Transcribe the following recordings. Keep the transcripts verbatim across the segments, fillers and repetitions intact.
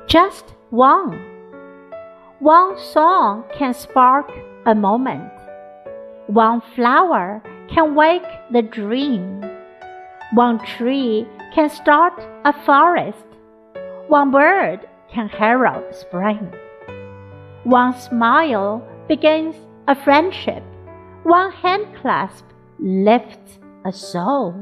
Just one. One song can spark a moment. One flower can wake the dream. One tree can start a forest. One bird can herald spring. One smile begins a friendship. One hand clasp lifts a soul.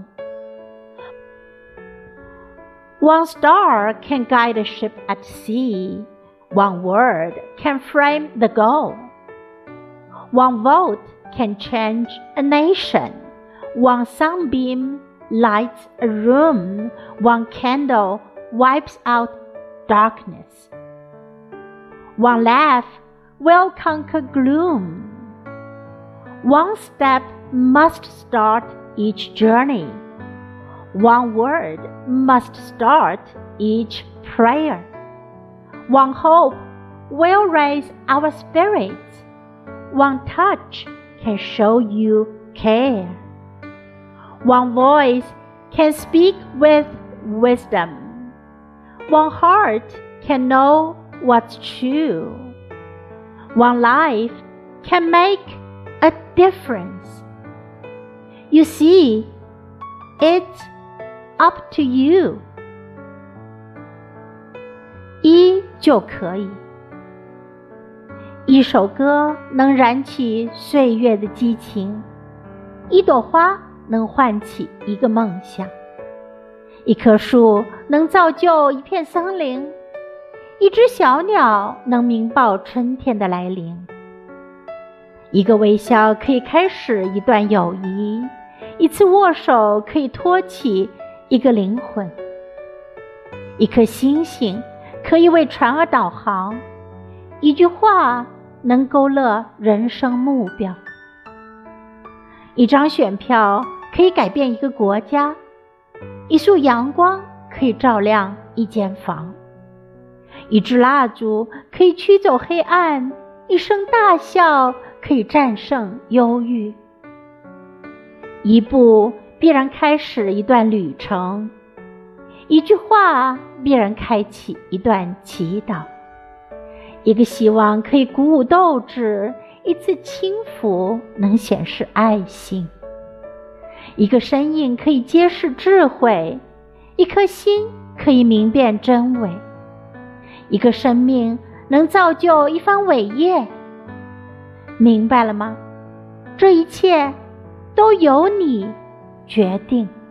One star can guide a ship at sea. One word can frame the goal. One vote can change a nation. One sunbeam lights a room. One candle wipes out darkness. One laugh will conquer gloom. One step must start each journey. One word must start each prayer. One hope will raise our spirits. One touch can show you care. One voice can speak with wisdom. One heart can know what's true. One life can make a difference. You see, it's up to you. 一就可以。一首歌能燃起岁月的激情，一朵花能唤起一个梦想，一棵树能造就一片森林，一只小鸟能鸣报春天的来临。一个微笑可以开始一段友谊，一次握手可以托起一个灵魂，一颗星星可以为船儿导航，一句话能勾勒人生目标，一张选票可以改变一个国家，一束阳光可以照亮一间房，一支蜡烛可以驱走黑暗，一声大笑可以战胜忧郁。一步必然开始一段旅程，一句话必然开启一段祈祷，一个希望可以鼓舞斗志，一次轻抚能显示爱心，一个身影可以揭示智慧，一颗心可以明辨真伪，一个生命能造就一番伟业。明白了吗？这一切都由你决定。